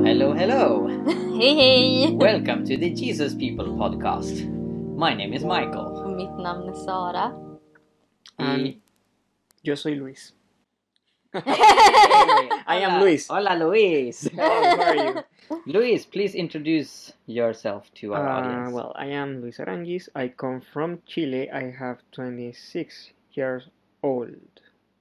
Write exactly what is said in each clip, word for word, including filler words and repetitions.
Hello, hello. Hej hej! Welcome to the Jesus People podcast. My name is Michael. Och mitt namn är Sara. And I... yo soy Luis. Hey, I am hola. Luis. Hola, Luis. Hello, how are you? Luis, please introduce yourself to our Uh, audience. well, I am Luis Arangis. I come from Chile. I have twenty-six years old.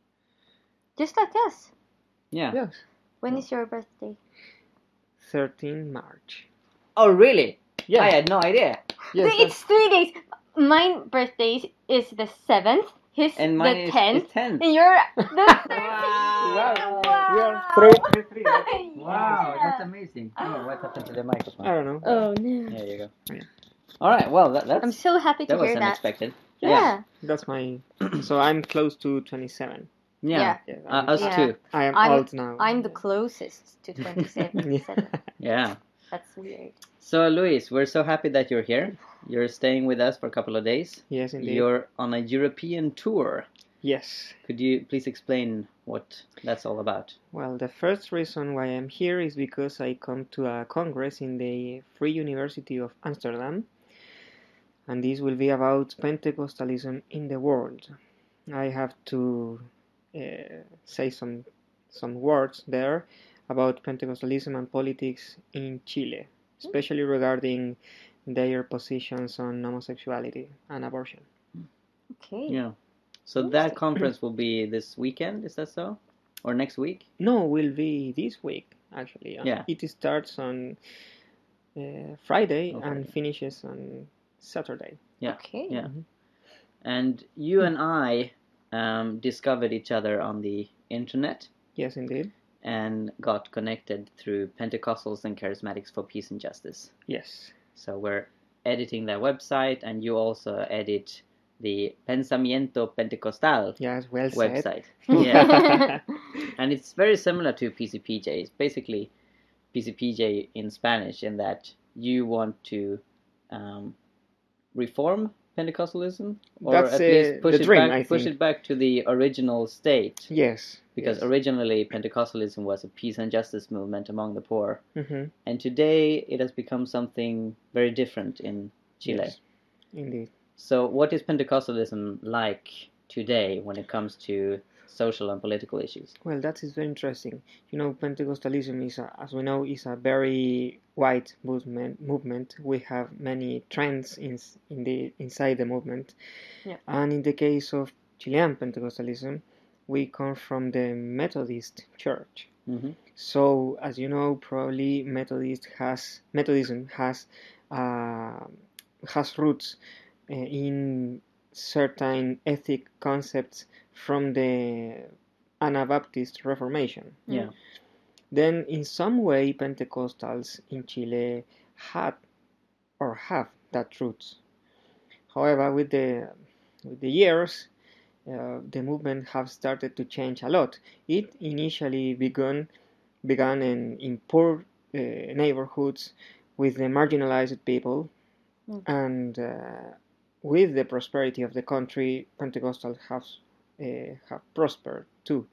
Just like us. Yeah. Yes. When is your birthday? thirteenth March. Oh, really? Yeah. I had no idea. Yes, it's three days. My birthday is the seventh. His And mine the is, tenth. is tenth. And you're the thirteenth. Wow. we are three, three, three. Wow, Yeah. that's amazing. Oh, what happened to the microphone? I don't know. Oh no. There you go. Yeah. All right. Well, that, that's I'm so happy to that was hear that. unexpected. Yeah. That's my. So I'm close to twenty-seven. Yeah. Yeah, Uh, us Yeah. too. I am I'm- old now. I'm the closest to twenty-seven. Yeah. Yeah. That's weird. So, Luis, we're so happy that you're here. You're staying with us for a couple of days. Yes, indeed. You're on a European tour. Yes. Could you please explain what that's all about? Well, the first reason why I'm here is because I come to a congress in the Free University of Amsterdam, and this will be about Pentecostalism in the world. I have to uh, say some some words there about Pentecostalism and politics in Chile, especially regarding their positions on homosexuality and abortion. Okay. Yeah. So that conference will be this weekend, is that so? Or next week? No, will be this week actually. Yeah. It starts on uh, Friday Oh, and Friday. finishes on Saturday. Yeah. Okay. Yeah. And you and I um, discovered each other on the internet Yes, indeed. and got connected through Pentecostals and Charismatics for Peace and Justice. Yes. So we're editing their website, and you also edit the Pensamiento Pentecostal Yes, well said. website. Yeah. And it's very similar to P C P J. It's basically P C P J in Spanish, in that you want to um, reform Pentecostalism, or That's, at uh, least push the it dream, back, I push think. it back to the original state. Yes. Because yes. originally Pentecostalism was a peace and justice movement among the poor, Mhm. and today it has become something very different in Chile. Yes, indeed. So what is Pentecostalism like today when it comes to social and political issues? Well, that is very interesting. You know, Pentecostalism is, a, as we know, is a very wide movement. Movement. We have many trends in in the inside the movement. Yeah. And in the case of Chilean Pentecostalism, we come from the Methodist Church. Mm-hmm. So, as you know, probably Methodist has Methodism has uh, has roots uh, in certain ethic concepts from the Anabaptist Reformation. Yeah. Then, in some way, Pentecostals in Chile had or have that roots. However, with the with the years, uh, the movement have started to change a lot. It initially began began in, in poor uh, neighborhoods with the marginalized people, Mm. and uh, with the prosperity of the country, Pentecostals have uh, have prospered too.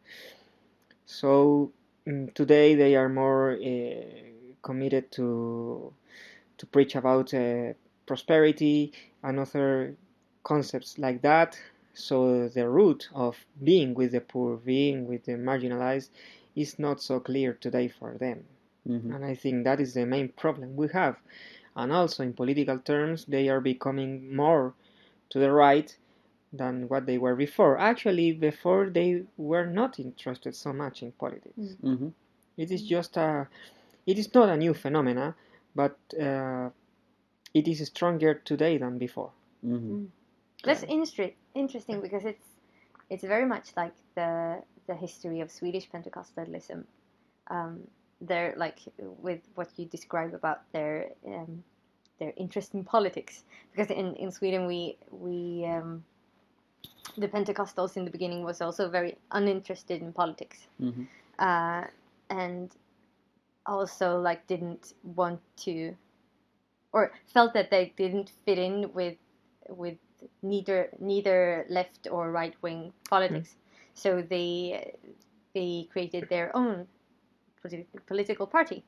So mm, today they are more uh, committed to to preach about uh, prosperity and other concepts like that. So the root of being with the poor, being with the marginalized, is not so clear today for them. Mm-hmm. And I think that is the main problem we have. And also in political terms, they are becoming more to the right than what they were before. Actually, before they were not interested so much in politics. Mm. Mm-hmm. It is just a, it is not a new phenomena, but uh, it is stronger today than before. Mm-hmm. That's inter- interesting because it's it's very much like the the history of Swedish Pentecostalism. Um, they're like with what you describe about their um, their interest in politics, because in, in Sweden we we um, the Pentecostals in the beginning was also very uninterested in politics, Mm-hmm. uh, and also like didn't want to, or felt that they didn't fit in with with neither neither left or right wing politics. So they they created their own politi- political party,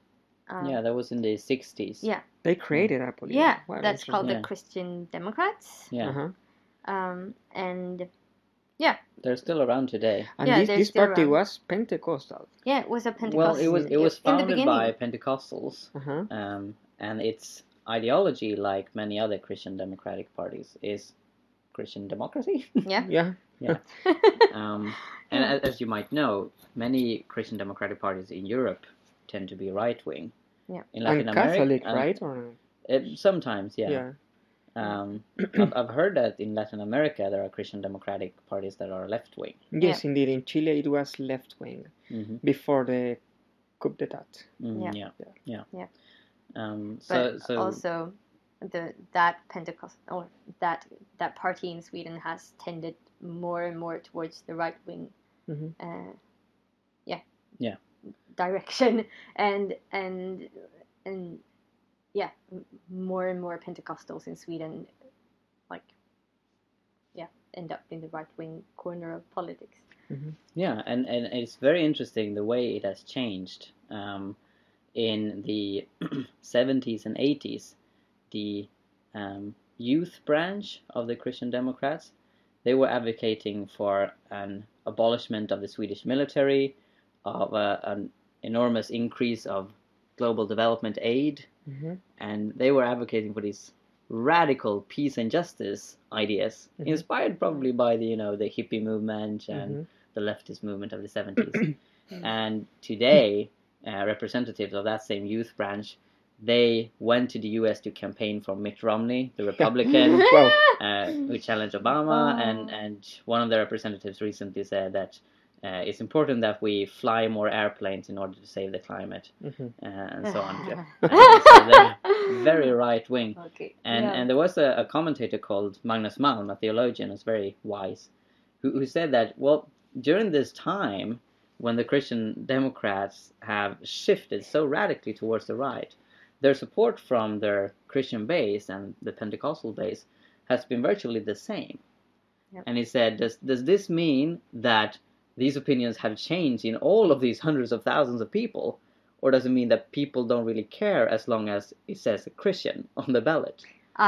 Um, yeah, that was in the sixties. Yeah. They created a political. Yeah, Wow, that's called Yeah. the Christian Democrats. Yeah, Uh-huh. Um, and they're still around today. And Yeah, this, they're this still party around. was Pentecostal. yeah, it was a Pentecostal. Well, it was it was in the founded by beginning. Pentecostals, Uh-huh. um, and its ideology, like many other Christian democratic parties, is Christian democracy. Yeah. Yeah. um, and Yeah. as, as you might know, many Christian democratic parties in Europe tend to be right wing. Yeah. In Latin And Catholic, America, right? Or it, sometimes, yeah. yeah. Um, I've, I've heard that in Latin America there are Christian democratic parties that are left wing. Yes, indeed. In Chile, it was left wing Mm-hmm. before the coup d'état. Mm, Yeah. yeah, yeah, Yeah. Um, But so, so also, the that Pentecost or that that party in Sweden has tended more and more towards the right wing. Mhm. Uh, yeah. Yeah. Direction and and and yeah, m- more and more Pentecostals in Sweden, like, yeah, end up in the right wing corner of politics. yeah, and, and it's very interesting the way it has changed. Um, in the seventies and eighties, the um, youth branch of the Christian Democrats, they were advocating for an abolishment of the Swedish military, of a, an enormous increase of global development aid, Mhm. and they were advocating for these radical peace and justice ideas, Mhm. inspired probably by the you know the hippie movement and Mhm. the leftist movement of the seventies. And today, uh, representatives of that same youth branch, they went to the U S to campaign for Mitt Romney, the Republican, Wow. uh, who challenged Obama, Oh. and, and one of the representatives recently said that uh, it's important that we fly more airplanes in order to save the climate, Mhm. uh, and so on. Yeah. Uh, so they're very right wing. Okay. And yeah. and there was a, a commentator called Magnus Malm, a theologian who's very wise, who, who said that, well, during this time when the Christian Democrats have shifted so radically towards the right, their support from their Christian base and the Pentecostal base has been virtually the same. Yep. And he said, does, does this mean that these opinions have changed in all of these hundreds of thousands of people? Or does it mean that people don't really care as long as it says Christian on the ballot?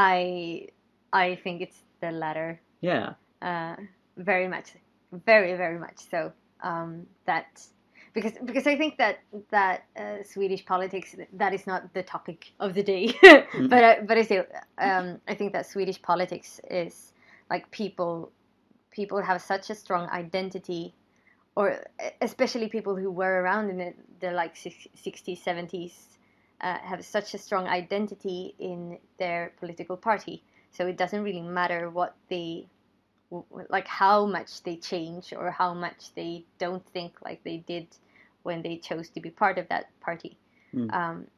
I I think it's the latter. Yeah. Uh, very much, very very much so. Um, that because because I think that that uh, Swedish politics, that is not the topic of the day. but I, but I still um, I think that Swedish politics is like people people have such a strong identity, or especially people who were around in the, the like sixties, seventies, uh, have such a strong identity in their political party. So it doesn't really matter what they, like how much they change or how much they don't think like they did when they chose to be part of that party. Mm. Um,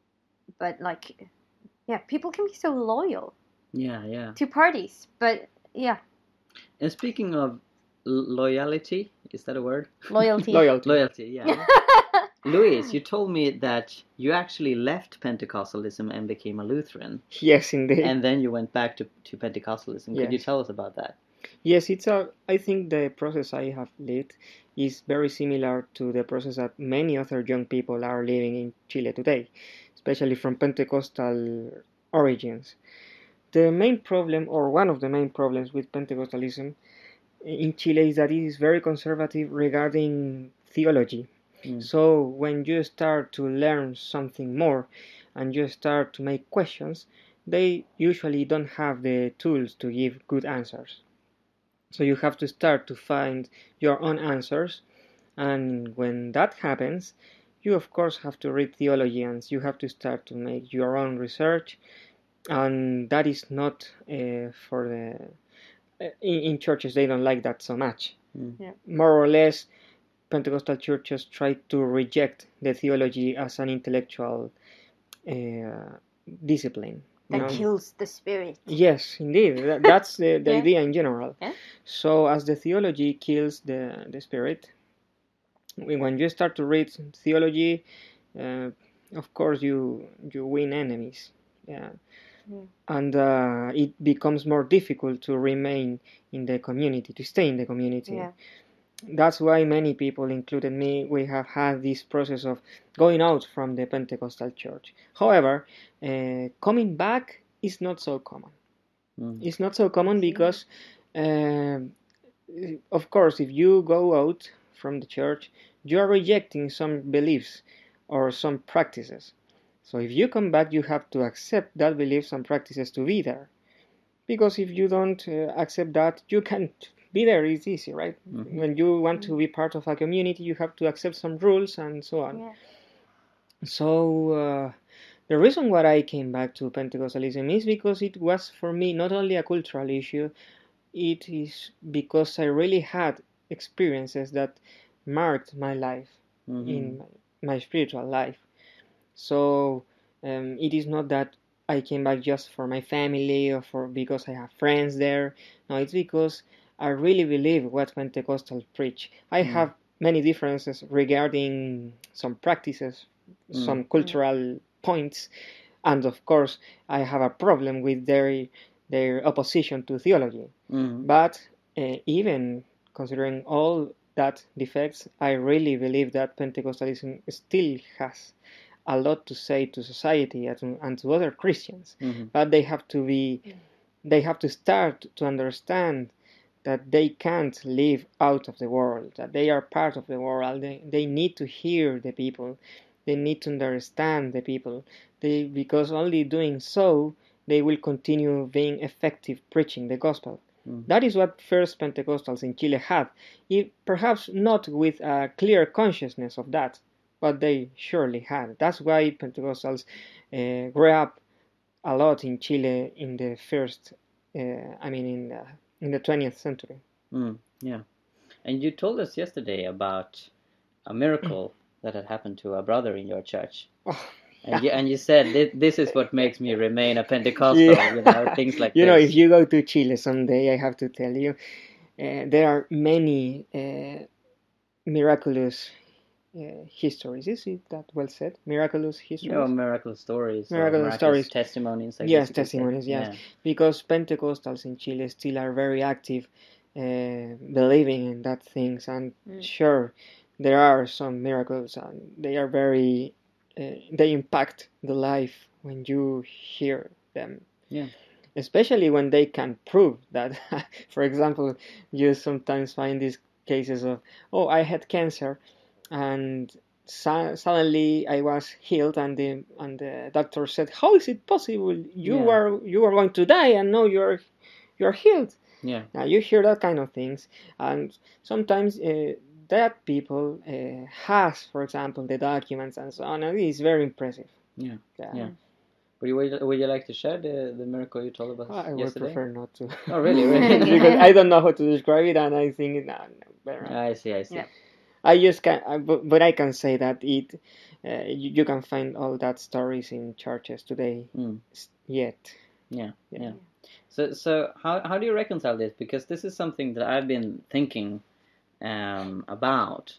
but like, yeah, people can be so loyal Yeah, yeah. to parties. But yeah, And speaking of loyalty, is that a word? loyalty. Loyalty. Loyalty, yeah. Luis, you told me that you actually left Pentecostalism and became a Lutheran, Yes, indeed. and then you went back to, to Pentecostalism. Could you Yes. tell us about that? Yes, it's a. I think the process I have lived is very similar to the process that many other young people are living in Chile today, especially from Pentecostal origins. The main problem, or one of the main problems with Pentecostalism in Chile, is that it is very conservative regarding theology. Mm. So when you start to learn something more and you start to make questions, they usually don't have the tools to give good answers. So you have to start to find your own answers, and when that happens, you of course have to read theology and you have to start to make your own research, and that is not uh, for the in, in churches. They don't like that so much. Mm. Yeah. More or less, Pentecostal churches try to reject the theology as an intellectual uh, discipline. you That know? kills the spirit. Yes, indeed. That, that's the, the Yeah. idea in general. Yeah. So as the theology kills the, the spirit, when you start to read theology, uh, of course you you win enemies. Yeah. Yeah. And uh, it becomes more difficult to remain in the community, to stay in the community. Yeah. that's why many people, including me, we have had this process of going out from the Pentecostal church. However, uh, coming back is not so common. Mm. It's not so common because, uh, of course, if you go out from the church, you are rejecting some beliefs or some practices. So if you come back, you have to accept that beliefs and practices to be there. Because if you don't uh, accept that, you can't be there. It's easy, right? Mhm. When you want to be part of a community, you have to accept some rules and so on. Yeah. So uh, the reason why I came back to Pentecostalism is because it was for me not only a cultural issue, it is because I really had experiences that marked my life Mhm. in my, my spiritual life. So um, it is not that I came back just for my family or for because I have friends there. No, it's because I really believe what Pentecostals preach. I Mm. have many differences regarding some practices, some Mm. cultural points, and of course I have a problem with their their opposition to theology. Mm. But uh, even considering all that defects, I really believe that Pentecostalism still has a lot to say to society and to, and to other Christians. Mm-hmm. But they have to be, they have to start to understand that they can't live out of the world, that they are part of the world. They, they need to hear the people. They need to understand the people. They, because only doing so, they will continue being effective preaching the gospel. Mm. That is what first Pentecostals in Chile had, if perhaps not with a clear consciousness of that, but they surely had. That's why Pentecostals uh, grew up a lot in Chile in the first, uh, I mean, in the, in the twentieth century. Mm, yeah. And you told us yesterday about a miracle that had happened to a brother in your church. Oh, and you and you said this, this is what makes me remain a Pentecostal, yeah. you know, things like you this. know, if you go to Chile someday, I have to tell you, uh, there are many uh, miraculous uh, histories. Is it that well said? Miraculous histories? Yeah, miracle stories. Miraculous, or stories. Testimonies. I yes, guess testimonies, yes. Yeah. Because Pentecostals in Chile still are very active, uh, believing in that things. And mm. sure, there are some miracles, and they are very, uh, they impact the life when you hear them. Yeah. Especially when they can prove that, for example, you sometimes find these cases of, oh, I had cancer, and so, suddenly I was healed, and the and the doctor said, "How is it possible? You Yeah. are you are going to die, and now you're you're healed." Yeah. Now you hear that kind of things, and sometimes uh, that people uh, has, for example, the documents and so on, and it is very impressive. Yeah. Yeah. Yeah. Would you, would, you, would you like to share the, the miracle you told about I yesterday? would prefer not to. Oh, really? Really? Because I don't know how to describe it, and I think no, no, better. I see. I see. Yeah. I just can, I, but, but I can say that it, uh, you, you can find all that stories in churches today. Mm. Yet. Yeah, yeah. yeah. So, so how how do you reconcile this? Because this is something that I've been thinking um, about.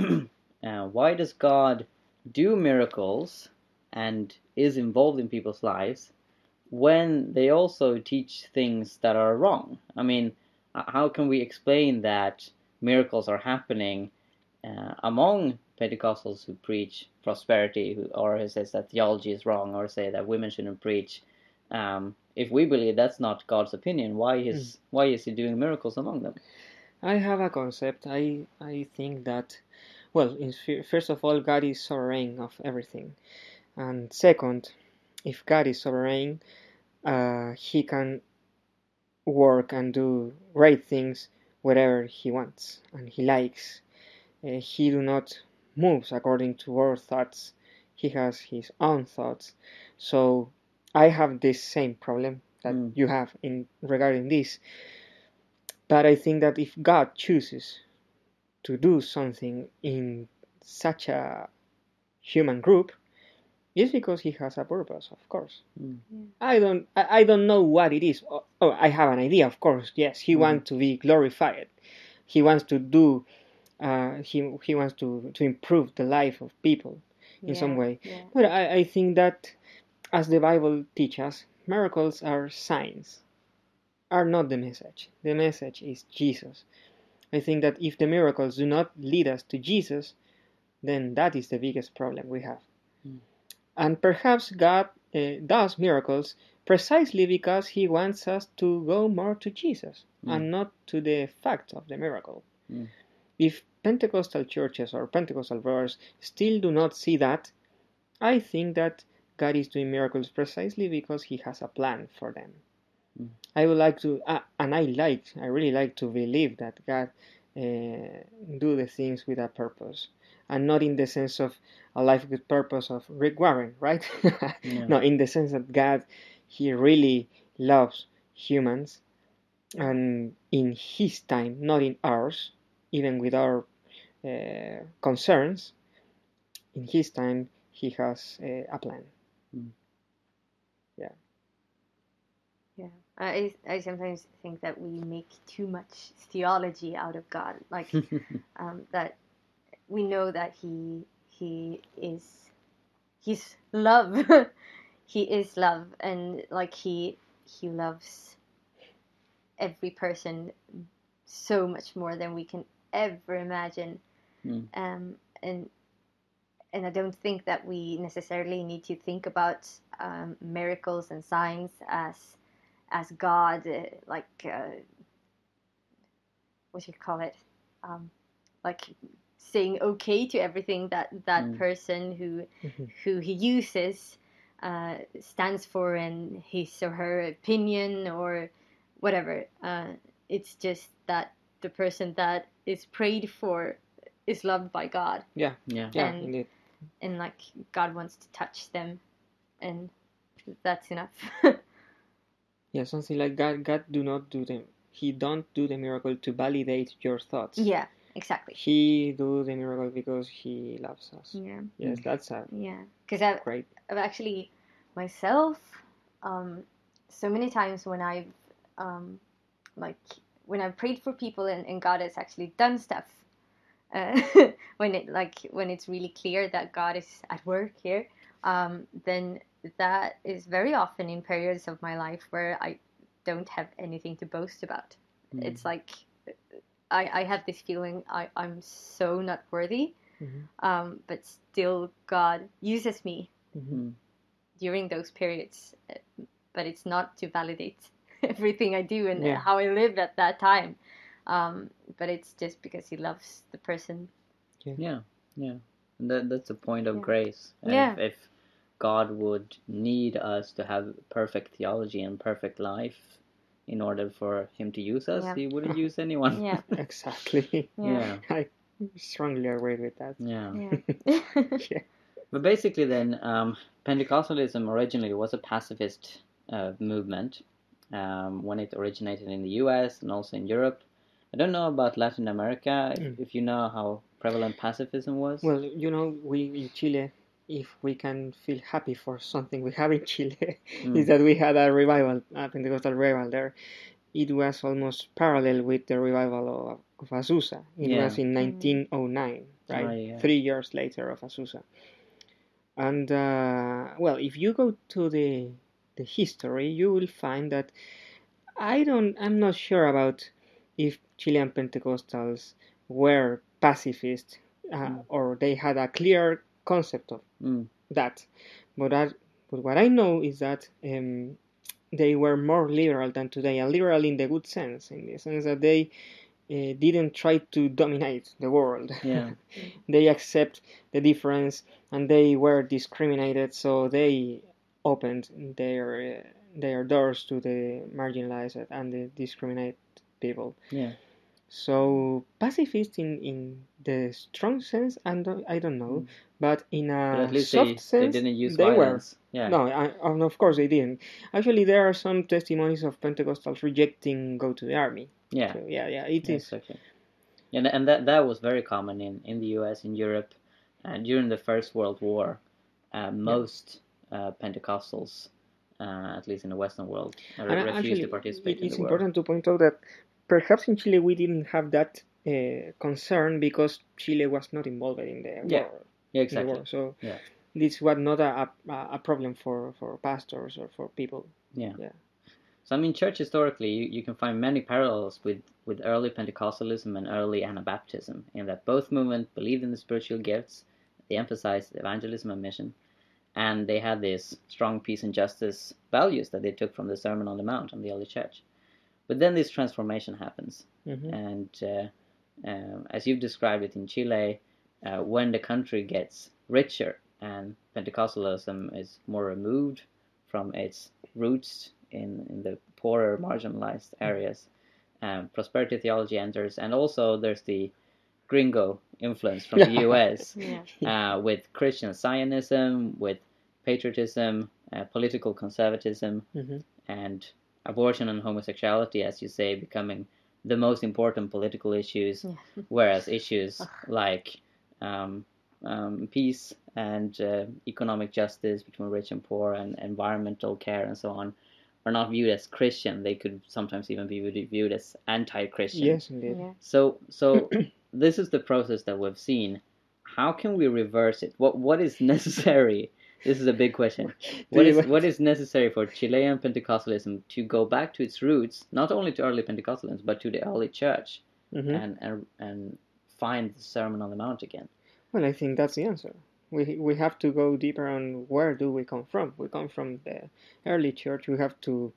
uh, why does God do miracles and is involved in people's lives when they also teach things that are wrong? I mean, how can we explain that miracles are happening uh, among Pentecostals who preach prosperity, who, or who says that theology is wrong, or say that women shouldn't preach? Um, if we believe that's not God's opinion, why is mm. why is He doing miracles among them? I have a concept. I I think that, well, in, first of all, God is sovereign of everything, and second, if God is sovereign, uh, He can work and do great things wherever He wants and He likes. Uh, he do not moves according to our thoughts. He has his own thoughts. So I have this same problem that mm. you have in regarding this. But I think that if God chooses to do something in such a human group, it's because He has a purpose, of course. Mm. Yeah. I don't, I, I don't know what it is. Oh, oh, I have an idea, of course. Yes, He mm. wants to be glorified. He wants to do. Uh, he he wants to, to improve the life of people in yeah, some way. Yeah. But I, I think that, as the Bible teaches, miracles are signs, are not the message. The message is Jesus. I think that if the miracles do not lead us to Jesus, then that is the biggest problem we have. Mm. And perhaps God uh, does miracles precisely because He wants us to go more to Jesus Mm. and not to the fact of the miracle. Mm. If Pentecostal churches or Pentecostal brothers still do not see that, I think that God is doing miracles precisely because He has a plan for them. Mm. I would like to, uh, and I like, I really like to believe that God uh, do the things with a purpose, and not in the sense of a life with purpose of Rick Warren, right? Yeah. No, in the sense that God, He really loves humans, and in His time, not in ours, even with our uh, concerns, in His time, He has uh, a plan. Mm. Yeah. Yeah, I I sometimes think that we make too much theology out of God, like um, that we know that he he is he's love, he is love, and like he he loves every person so much more than we can ever imagine, Mm. um, and and I don't think that we necessarily need to think about um, miracles and signs as as God, uh, like uh, what do you call it, um, like saying okay to everything that that Mm. person who Mhm. who he uses uh, stands for in his or her opinion or whatever. Uh, it's just that the person that is prayed for is loved by God, Yeah, Yeah. yeah, And- indeed. and like God wants to touch them, and that's enough. Yeah, something like God. God do not do them. He don't do the miracle to validate your thoughts. Yeah, exactly. He do the miracle because He loves us. Yeah, Yes, Mm. that's a yeah. Because I've great. I've actually myself um, so many times when I've um, like when I've prayed for people and, and God has actually done stuff. Uh, when it like when it's really clear that God is at work here, um, then that is very often in periods of my life where I don't have anything to boast about. Mm. It's like I, I have this feeling I, I'm so not worthy, Mhm. um, but still God uses me Mhm. Mm. during those periods, uh, but it's not to validate everything I do and Yeah. how I live at that time, um, but it's just because he loves the person. Yeah. Yeah. And that, that's the point of Yeah. grace. And Yeah. If, if God would need us to have perfect theology and perfect life in order for Him to use us, Yeah. He wouldn't use anyone. Yeah. Exactly. Yeah. Yeah. I strongly agree with that. Yeah. Yeah. Yeah. But basically, then, um, Pentecostalism originally was a pacifist uh, movement um, when it originated in the U S and also in Europe. I don't know about Latin America, if, Mm. if you know how prevalent pacifism was. Well, you know, we in Chile, if we can feel happy for something we have in Chile, Mm. is that we had a revival, a Pentecostal revival there. It was almost parallel with the revival of, of Azusa. It Yeah. was in nineteen oh nine, right? Oh, yeah. Three years later of Azusa. And uh, well, if you go to the the history, you will find that I don't. I'm not sure about if Chilean Pentecostals were pacifist uh, Mm. or they had a clear concept of Mm. that. But that, but what I know is that um, they were more liberal than today, and liberal in the good sense, in the sense that they uh, didn't try to dominate the world. Yeah. They accept the difference, and they were discriminated, so they opened their uh, their doors to the marginalized and the discriminated people. Yeah. So pacifist in, in the strong sense, I don't, I don't know, Mm. but in But a at least soft they, they sense, didn't use they were. violence. Yeah. No, I, and of course they didn't. Actually, there are some testimonies of Pentecostals rejecting go to the army. Yeah. So yeah, yeah, it Yeah, is. exactly. And and that that was very common in, in the U S, in Europe, uh, during the First World War. Uh, most uh, Pentecostals, uh, at least in the Western world, uh, And refused actually, to participate it in is the war. important to point out that perhaps in Chile we didn't have that uh, concern because Chile was not involved in the Yeah. war. Yeah, In the exactly. war. So Yeah. this was not a, a, a problem for, for pastors or for people. Yeah. Yeah. So I mean, church historically, you, you can find many parallels with, with early Pentecostalism and early Anabaptism, in that both movements believed in the spiritual gifts, they emphasized evangelism and mission, and they had these strong peace and justice values that they took from the Sermon on the Mount and the early church. But then this transformation happens, mm-hmm. and uh, uh, as you've described it in Chile, uh, when the country gets richer and Pentecostalism is more removed from its roots in, in the poorer, marginalized areas, um, prosperity theology enters, and also there's the gringo influence from the U S yeah. uh, with Christian Zionism, with patriotism, uh, political conservatism, mm-hmm. and abortion and homosexuality, as you say, becoming the most important political issues, yeah. whereas issues like um, um, peace and uh, economic justice between rich and poor and environmental care and so on are not viewed as Christian. They could sometimes even be viewed as anti-Christian. Yes, indeed. Yeah. So, so this is the process that we've seen. How can we reverse it? What What is necessary? This is a big question. What is what is necessary for Chilean Pentecostalism to go back to its roots, not only to early Pentecostalism, but to the early church, mm-hmm. and, and and find the Sermon on the Mount again? Well, I think that's the answer. We we have to go deeper on where do we come from. We come from the early church. We have to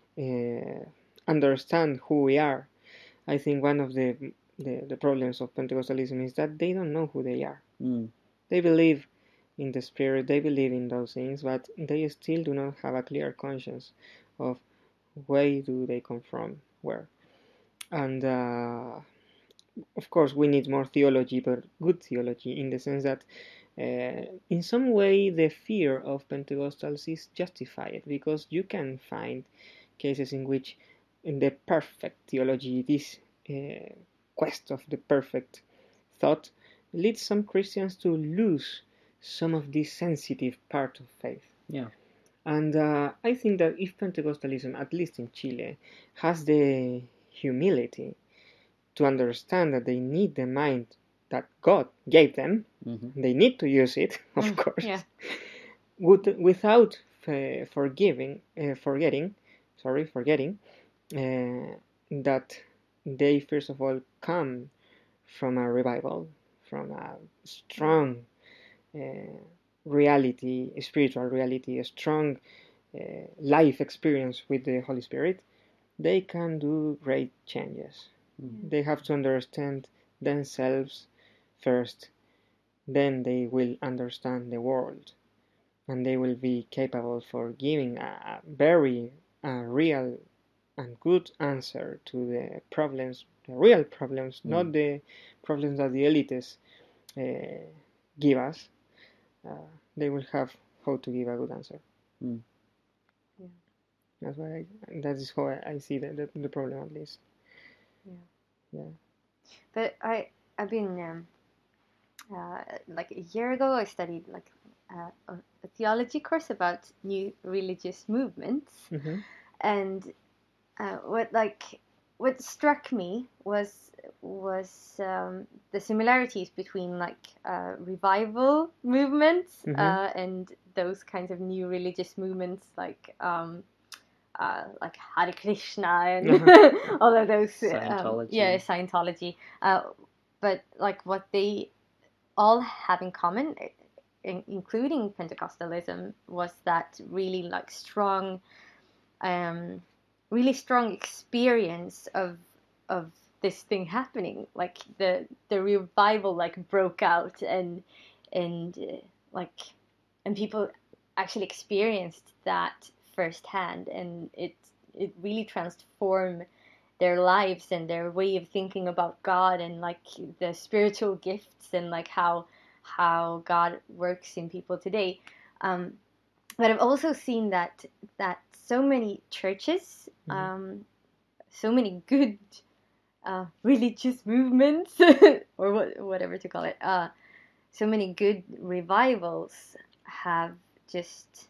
uh, understand who we are. I think one of the, the the problems of Pentecostalism is that they don't know who they are. Mm. They believe in the Spirit, they believe in those things, but they still do not have a clear conscience of where do they come from, where. And uh, of course we need more theology, but good theology, in the sense that uh, in some way the fear of Pentecostals is justified, because you can find cases in which in the perfect theology, this uh, quest of the perfect thought, leads some Christians to lose some of this sensitive part of faith. Yeah. And uh, I think that if Pentecostalism, at least in Chile, has the humility to understand that they need the mind that God gave them, mm-hmm. they need to use it, of mm, course, yeah. would, without uh, forgiving, uh, forgetting, sorry, forgetting uh, that they first of all come from a revival, from a strong Uh, reality, spiritual reality, a strong uh, life experience with the Holy Spirit, they can do great changes. Mm-hmm. They have to understand themselves first, then they will understand the world, and they will be capable for giving a, a very uh, real and good answer to the problems, the real problems, mm-hmm. not the problems that the elites uh, give us. Uh, they will have how to give a good answer. Mm. Yeah. That's why I, that is how I, I see the, the the problem, at least. Yeah. Yeah. But I I've been um, uh, like a year ago I studied like uh, a, a theology course about new religious movements, mm-hmm. and uh, what like what struck me was was um, the similarities between like uh, revival movements mm-hmm. uh, and those kinds of new religious movements like um, uh, like Hare Krishna and uh-huh. all of those Scientology. Um, yeah Scientology uh, but like what they all have in common, in, including Pentecostalism, was that really like strong um, really strong experience of of this thing happening, like the the revival like broke out and and uh, like and people actually experienced that firsthand, and it it really transformed their lives and their way of thinking about God and like the spiritual gifts and like how how God works in people today. Um, but I've also seen that that so many churches, mm-hmm. um, so many good Uh, religious movements or what, whatever to call it, uh, so many good revivals have just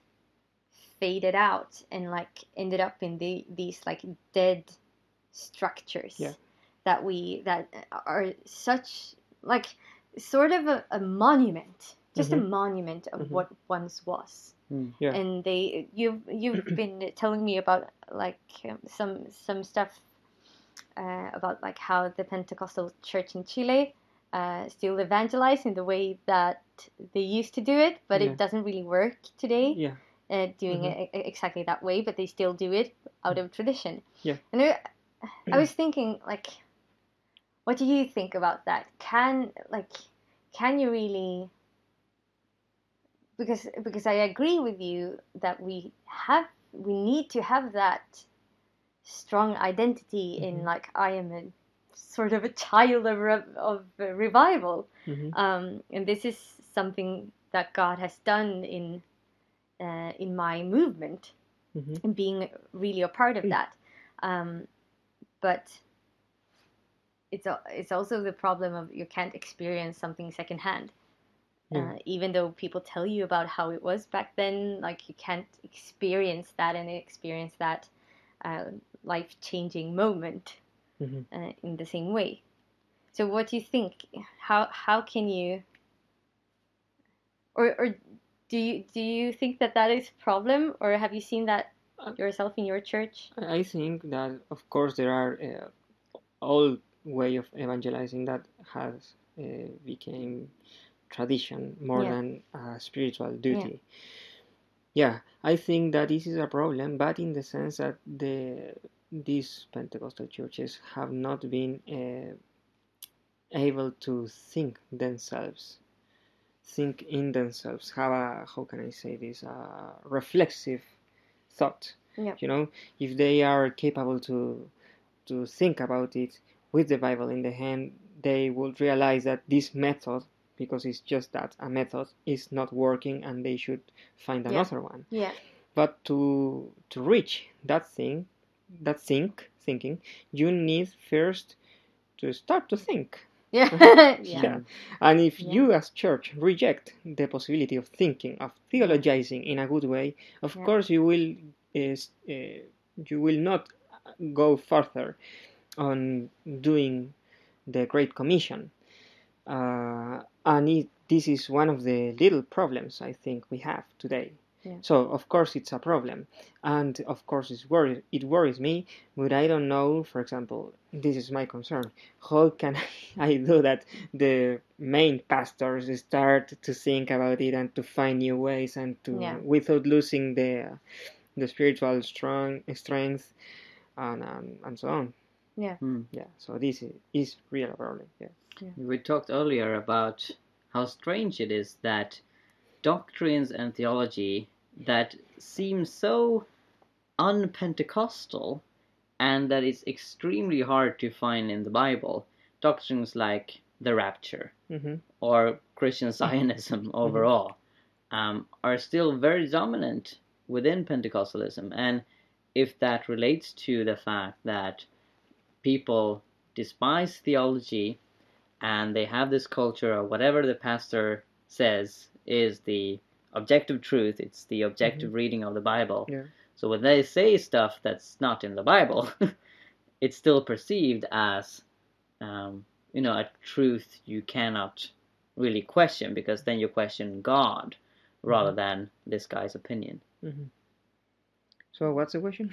faded out and like ended up in the, these like dead structures yeah. that we that are such like sort of a, a monument, just mm-hmm. a monument of mm-hmm. what once was. Mm. Yeah. And they you've you've been telling me about like um, some some stuff uh, about like how the Pentecostal church in Chile uh, still evangelize in the way that they used to do it, but Yeah. it doesn't really work today. Yeah. Uh, doing Mhm. it e- exactly that way, but they still do it out of tradition. Yeah. And I, I was thinking, like, what do you think about that? Can like, can you really? Because because I agree with you that we have we need to have that strong identity in Mhm. like I am a sort of a child of re- of uh, revival, Mhm. um, and this is something that God has done in uh, in my movement Mhm. and being really a part of that. Um, but it's a, it's also the problem of you can't experience something secondhand. Yeah. Uh, even though people tell you about how it was back then, like you can't experience that and experience that uh, life-changing moment Mhm. uh, in the same way. So, what do you think? How how can you, or or do you do you think that that is a problem, or have you seen that Uh, yourself in your church? I I think that of course there are uh, old way of evangelizing that has uh, became tradition more Yeah. than a spiritual Yeah. duty. Yeah, I think that this is a problem, but in the sense that the these Pentecostal churches have not been uh, able to think themselves, think in themselves, have a, how can I say this, a reflexive thought. Yeah. You know, if they are capable to to think about it with the Bible in the hand, they will realize that this method, because it's just that a method, is not working, and they should find Yeah. another one. Yeah. But to to reach that thing, that think thinking, you need first to start to think. Yeah. Yeah. Yeah. And if Yeah. you as church reject the possibility of thinking, of theologizing in a good way, of Yeah. course you will uh, uh, you will not go further on doing the Great Commission. Uh, and it, this is one of the little problems I think we have today. Yeah. So of course it's a problem, and of course it's worry, it worries me, but I don't know, for example, this is my concern, how can I do that the main pastors start to think about it and to find new ways and to, Yeah. without losing the the spiritual strong strength and, and, and so on. Yeah. Mm. Yeah, so this is, is real problem. Yeah. We talked earlier about how strange it is that doctrines and theology that seem so un-Pentecostal and that it's extremely hard to find in the Bible, doctrines like the rapture Mm-hmm. or Christian Zionism overall, um, are still very dominant within Pentecostalism. And if that relates to the fact that people despise theology and they have this culture of whatever the pastor says is the objective truth, it's the objective Mm-hmm. reading of the Bible. Yeah. So when they say stuff that's not in the Bible, it's still perceived as, um, you know, a truth you cannot really question, because then you question God rather Mm-hmm. than this guy's opinion. Mm-hmm. So what's the question?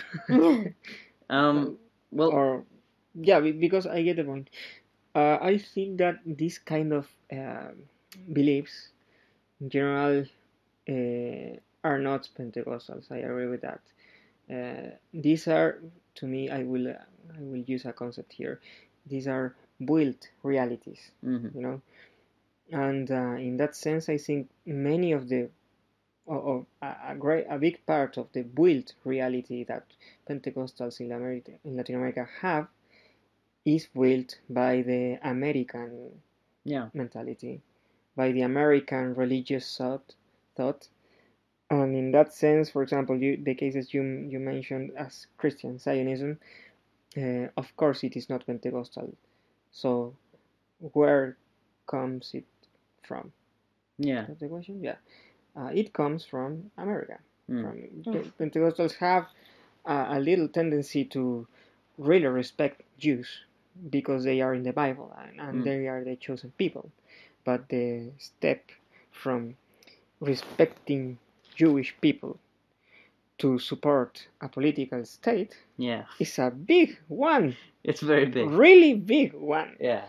um, well, or yeah, because I get the point. Uh, I think that this kind of uh, beliefs, in general, uh, are not Pentecostals. I agree with that. Uh, these are, to me, I will I will use a concept here. These are built realities, mm-hmm. you know, and uh, in that sense, I think many of the of a, great a big part of the built reality that Pentecostals in America in Latin America have is built by the American yeah. mentality, by the American religious thought, thought. And in that sense, for example, you, the cases you you mentioned as Christian Zionism, uh, of course it is not Pentecostal. So where comes it from? Yeah. That's the question. Yeah, uh, it comes from America. Mm. From the Pentecostals have a, a little tendency to really respect Jews because they are in the Bible and, and Mm. they are the chosen people. But the step from respecting Jewish people to support a political state Yeah, is a big one, it's very big. really big one. Yeah,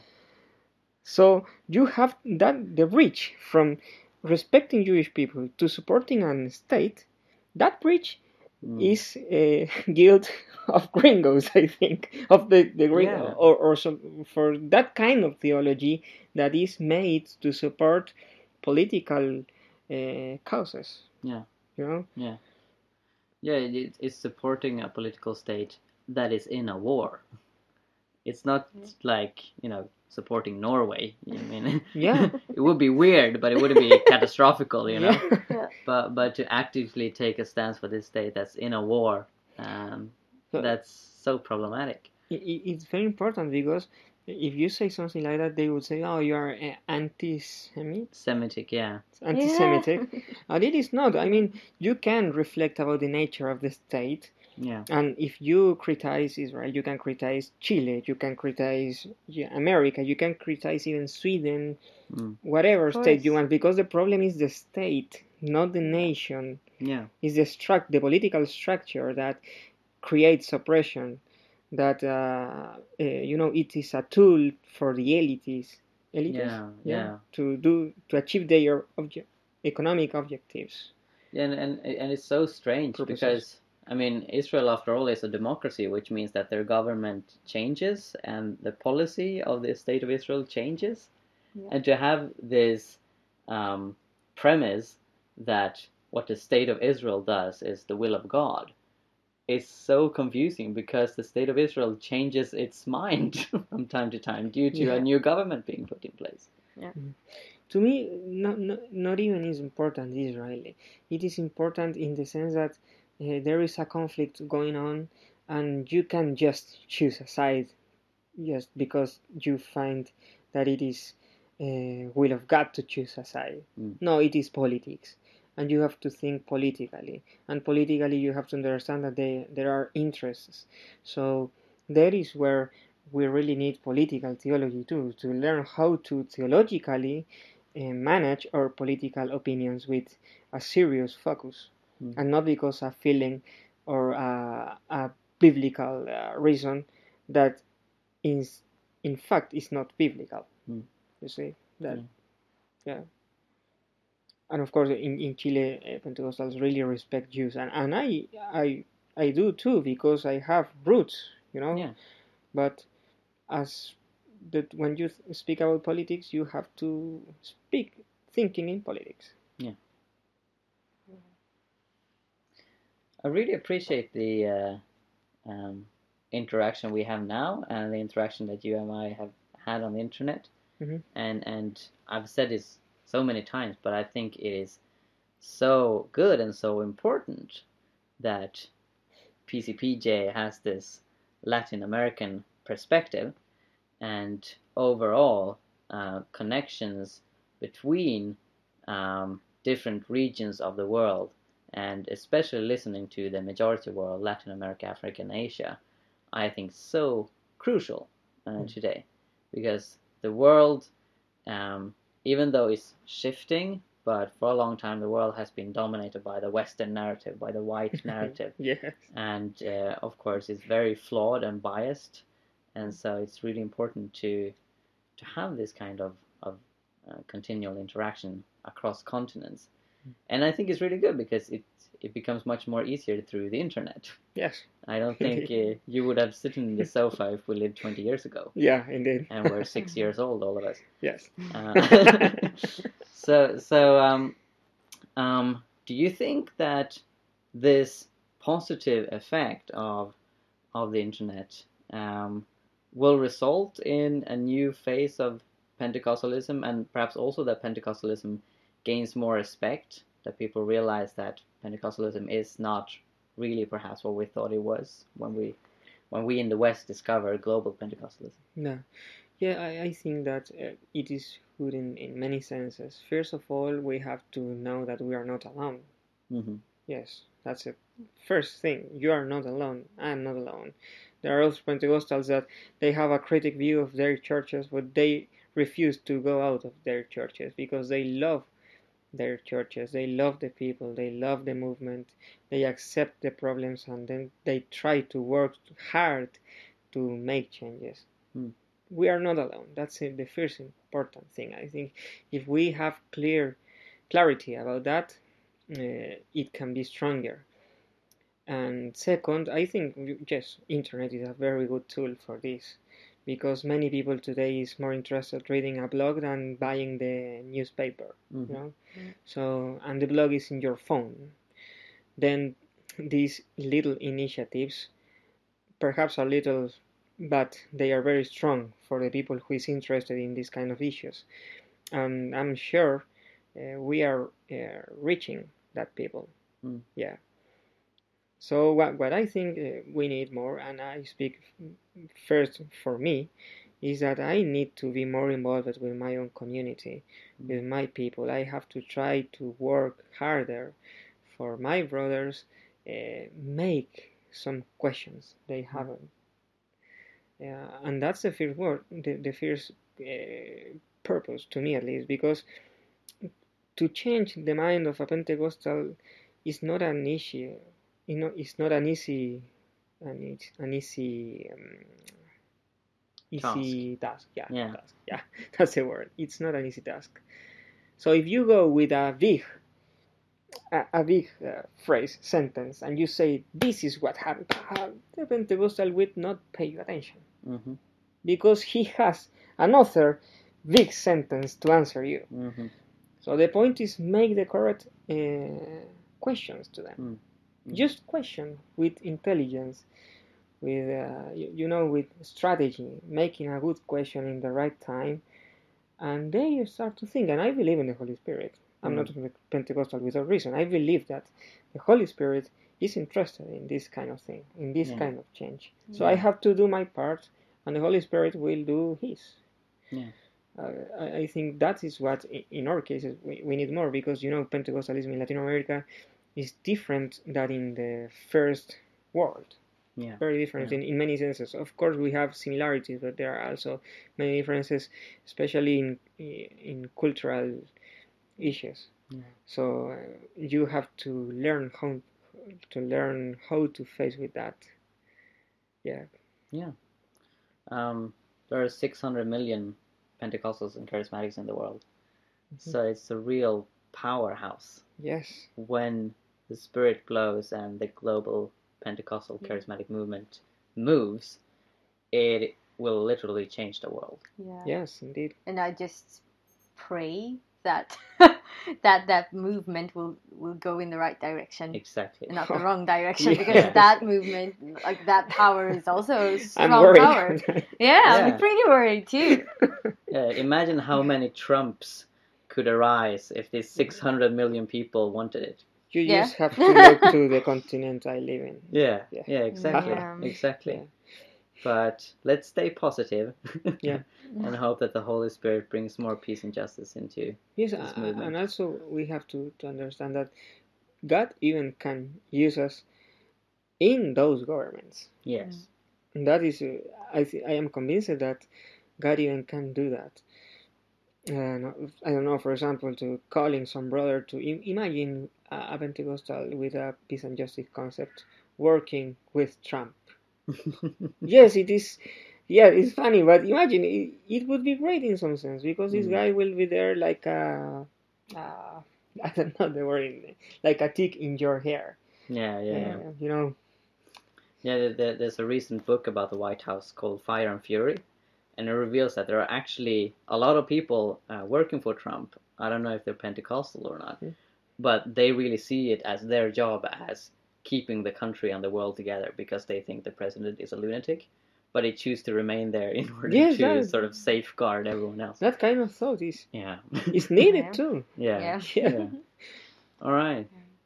So you have that the bridge from respecting Jewish people to supporting a state. That bridge mm. is a guild of gringos, I think, of the the gringo, Yeah. or or some, for that kind of theology that is made to support political uh, causes. Yeah. You know. Yeah. Yeah, it, it's supporting a political state that is in a war. It's not Yeah. like, you know, supporting Norway. I mean, Yeah. it would be weird, but it wouldn't be catastrophical, you know. Yeah. Yeah. But but to actively take a stance for this state that's in a war, um, So that's so problematic. it, it- it's very important because if you say something like that, they would say, "Oh, you are uh, anti-Semite, Semitic, yeah, anti-Semitic," Yeah. and it is not. I mean, you can reflect about the nature of the state. yeah, And if you criticize Israel, you can criticize Chile, you can criticize yeah, America, you can criticize even Sweden, mm. whatever Of state you course. want, because the problem is the state, not the nation. yeah, It's the struct, the political structure that creates oppression. That uh, uh, you know, it is a tool for the elites, elites, yeah, yeah. to do to achieve their obje- economic objectives. Yeah, and, and and it's so strange Purposes. because I mean Israel, after all, is a democracy, which means that their government changes and the policy of the state of Israel changes, Yeah. and to have this um, premise that what the state of Israel does is the will of God is so confusing because the state of Israel changes its mind from time to time due to Yeah. a new government being put in place. To me, not, not, not even is important Israeli. It is important in the sense that uh, there is a conflict going on, and you can just choose a side just because you find that it is uh, will of God to choose a side. Mm. No, it is politics, and you have to think politically, and politically you have to understand that they, there are interests. So that is where we really need political theology too, to learn how to theologically uh, manage our political opinions with a serious focus, Mm. and not because a feeling or a, a biblical uh, reason that is in fact is not biblical. Mm. You see that, Mm. yeah. And of course, in, in Chile, uh, Pentecostals really respect Jews, and, and I I I do too because I have roots, you know. Yeah. But as that when you th- speak about politics, you have to speak thinking in politics. I really appreciate the uh, um, interaction we have now and the interaction that you and I have had on the internet. Mhm. And and I've said this so many times, but I think it is so good and so important that P C P J has this Latin American perspective and overall uh, connections between um, different regions of the world, and especially listening to the majority world, Latin America, Africa, and Asia, I think so crucial uh, Mm. today, because the world, um, even though it's shifting, but for a long time the world has been dominated by the Western narrative, by the white narrative, Yes. and uh, of course it's very flawed and biased, and so it's really important to to have this kind of of uh, continual interaction across continents, and I think it's really good because it it becomes much more easier through the internet. Yes. I don't think uh, you would have sitting in the sofa if we lived twenty years ago, Yeah, indeed. and we're six years old, all of us. Yes. Uh, so so um, um, do you think that this positive effect of of the internet um, will result in a new phase of Pentecostalism, and perhaps also that Pentecostalism gains more respect, that people realize that Pentecostalism is not really perhaps what we thought it was when we when we in the West discovered global Pentecostalism? No. Yeah, I, I think that uh, it is good in, in many senses. First of all, we have to know that we are not alone. Mm-hmm. Yes, that's the first thing. You are not alone. I am not alone. There are also Pentecostals that they have a critic view of their churches, but they refuse to go out of their churches because they love their churches. They love the people, they love the movement, they accept the problems, and then they try to work hard to make changes. Mm. We are not alone. That's the first important thing. I think if we have clear clarity about that, uh, it can be stronger. And second, I think, yes, internet is a very good tool for this, because many people today is more interested reading a blog than buying the newspaper. Mm-hmm. You know, Mm. so and the blog is in your phone. Then these little initiatives, perhaps a little, but they are very strong for the people who is interested in these kind of issues. And I'm sure uh, we are uh, reaching that people. Mm. Yeah. So what, what I think uh, we need more, and I speak first for me, is that I need to be more involved with my own community, Mm. with my people. I have to try to work harder for my brothers, uh, make some questions they haven't. Yeah, and that's the first word, the, the first uh, purpose to me at least, because to change the mind of a Pentecostal is not an issue. You know, it's not an easy, an, an easy, um, easy task. task. Yeah, Yeah. task. Yeah, that's the word. It's not an easy task. So if you go with a big, a, a big uh, phrase, sentence, and you say this is what happened, the Pentecostal will not pay you attention, mm-hmm. because he has another big sentence to answer you. Mm-hmm. So the point is make the correct uh, questions to them. Mm-hmm. Just question with intelligence, with uh, you, you know, with strategy, making a good question in the right time, and then you start to think. And I believe in the Holy Spirit. I'm Mm. not Pentecostal without reason. I believe that the Holy Spirit is interested in this kind of thing, in this Yeah. kind of change. Yeah. So I have to do my part, and the Holy Spirit will do His. Yeah. Uh, I, I think that is what, in our cases, we, we need more, because, you know, Pentecostalism in Latin America is different than in the first world. Yeah. Very different Yeah. in, in many senses. Of course, we have similarities, but there are also many differences, especially in in cultural issues. Yeah. So uh, you have to learn how to learn how to face with that. Yeah. Yeah. Um, there are six hundred million Pentecostals and Charismatics in the world, Mm-hmm. so it's a real powerhouse. Yes. When the Spirit blows and the global Pentecostal Charismatic movement moves, it will literally change the world. Yeah. Yes, indeed. And I just pray that that that movement will will go in the right direction, Exactly. and not the wrong direction, Yes. because that movement, like that power, is also a strong I'm worried. power. Yeah, Yeah. I'm pretty worried too. Yeah, imagine how many Trumps could arise if these six hundred million people wanted it. You Yeah. just have to look to the continent I live in. Yeah, Yeah. yeah, exactly, Yeah. exactly. Yeah. But let's stay positive. Yeah. And hope that the Holy Spirit brings more peace and justice into Yes, this uh, movement. and also we have to, to understand that God even can use us in those governments. Yes. And that is, uh, I th- I am convinced that God even can do that. And I don't know, for example, to calling some brother to Im- imagine a, a Pentecostal with a peace and justice concept working with Trump. Yes, it is. Yeah, it's funny, but imagine it, it would be great in some sense, because this Mm. guy will be there like a, uh, I don't know the word, in, like a tick in your hair. Yeah, yeah, yeah. Uh, you know. Yeah, there- there- there's a recent book about the White House called Fire and Fury, and it reveals that there are actually a lot of people uh, working for Trump. I don't know if they're Pentecostal or not, Mm. but they really see it as their job as keeping the country and the world together, because they think the president is a lunatic, but they choose to remain there in order Yes, to that- sort of safeguard everyone else. That kind of thought is Yeah. is needed Yeah. too. yeah. Yeah. Yeah. Yeah. All right.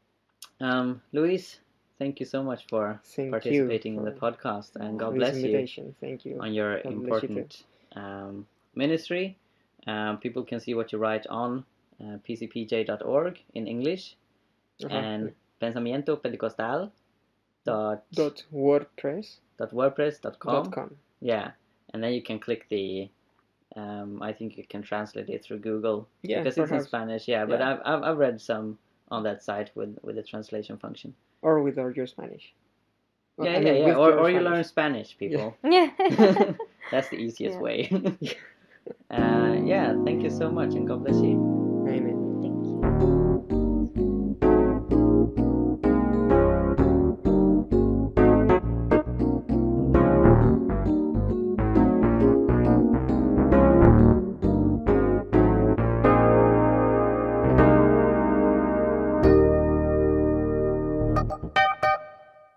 Um, Luis, thank you so much for Thank participating you in the for podcast, and for God this bless you invitation. Thank you. on your God bless you too. important um, ministry. Um, people can see what you write on uh, p c p j dot org in English, Uh-huh. and pensamiento pentecostal dot Dot WordPress dot wordpress dot com. dot com. Yeah, and then you can click the Um, I think you can translate it through Google Yeah, because it's in perhaps. Spanish. Yeah, but Yeah. I've, I've I've read some on that site with with the translation function. Or with all your Spanish. Well, Yeah, I yeah, mean, yeah. with Or your or you Spanish. learn Spanish, people. Yeah. That's the easiest Yeah. way. uh, yeah, thank you so much, and God bless you. Amen. Thank you.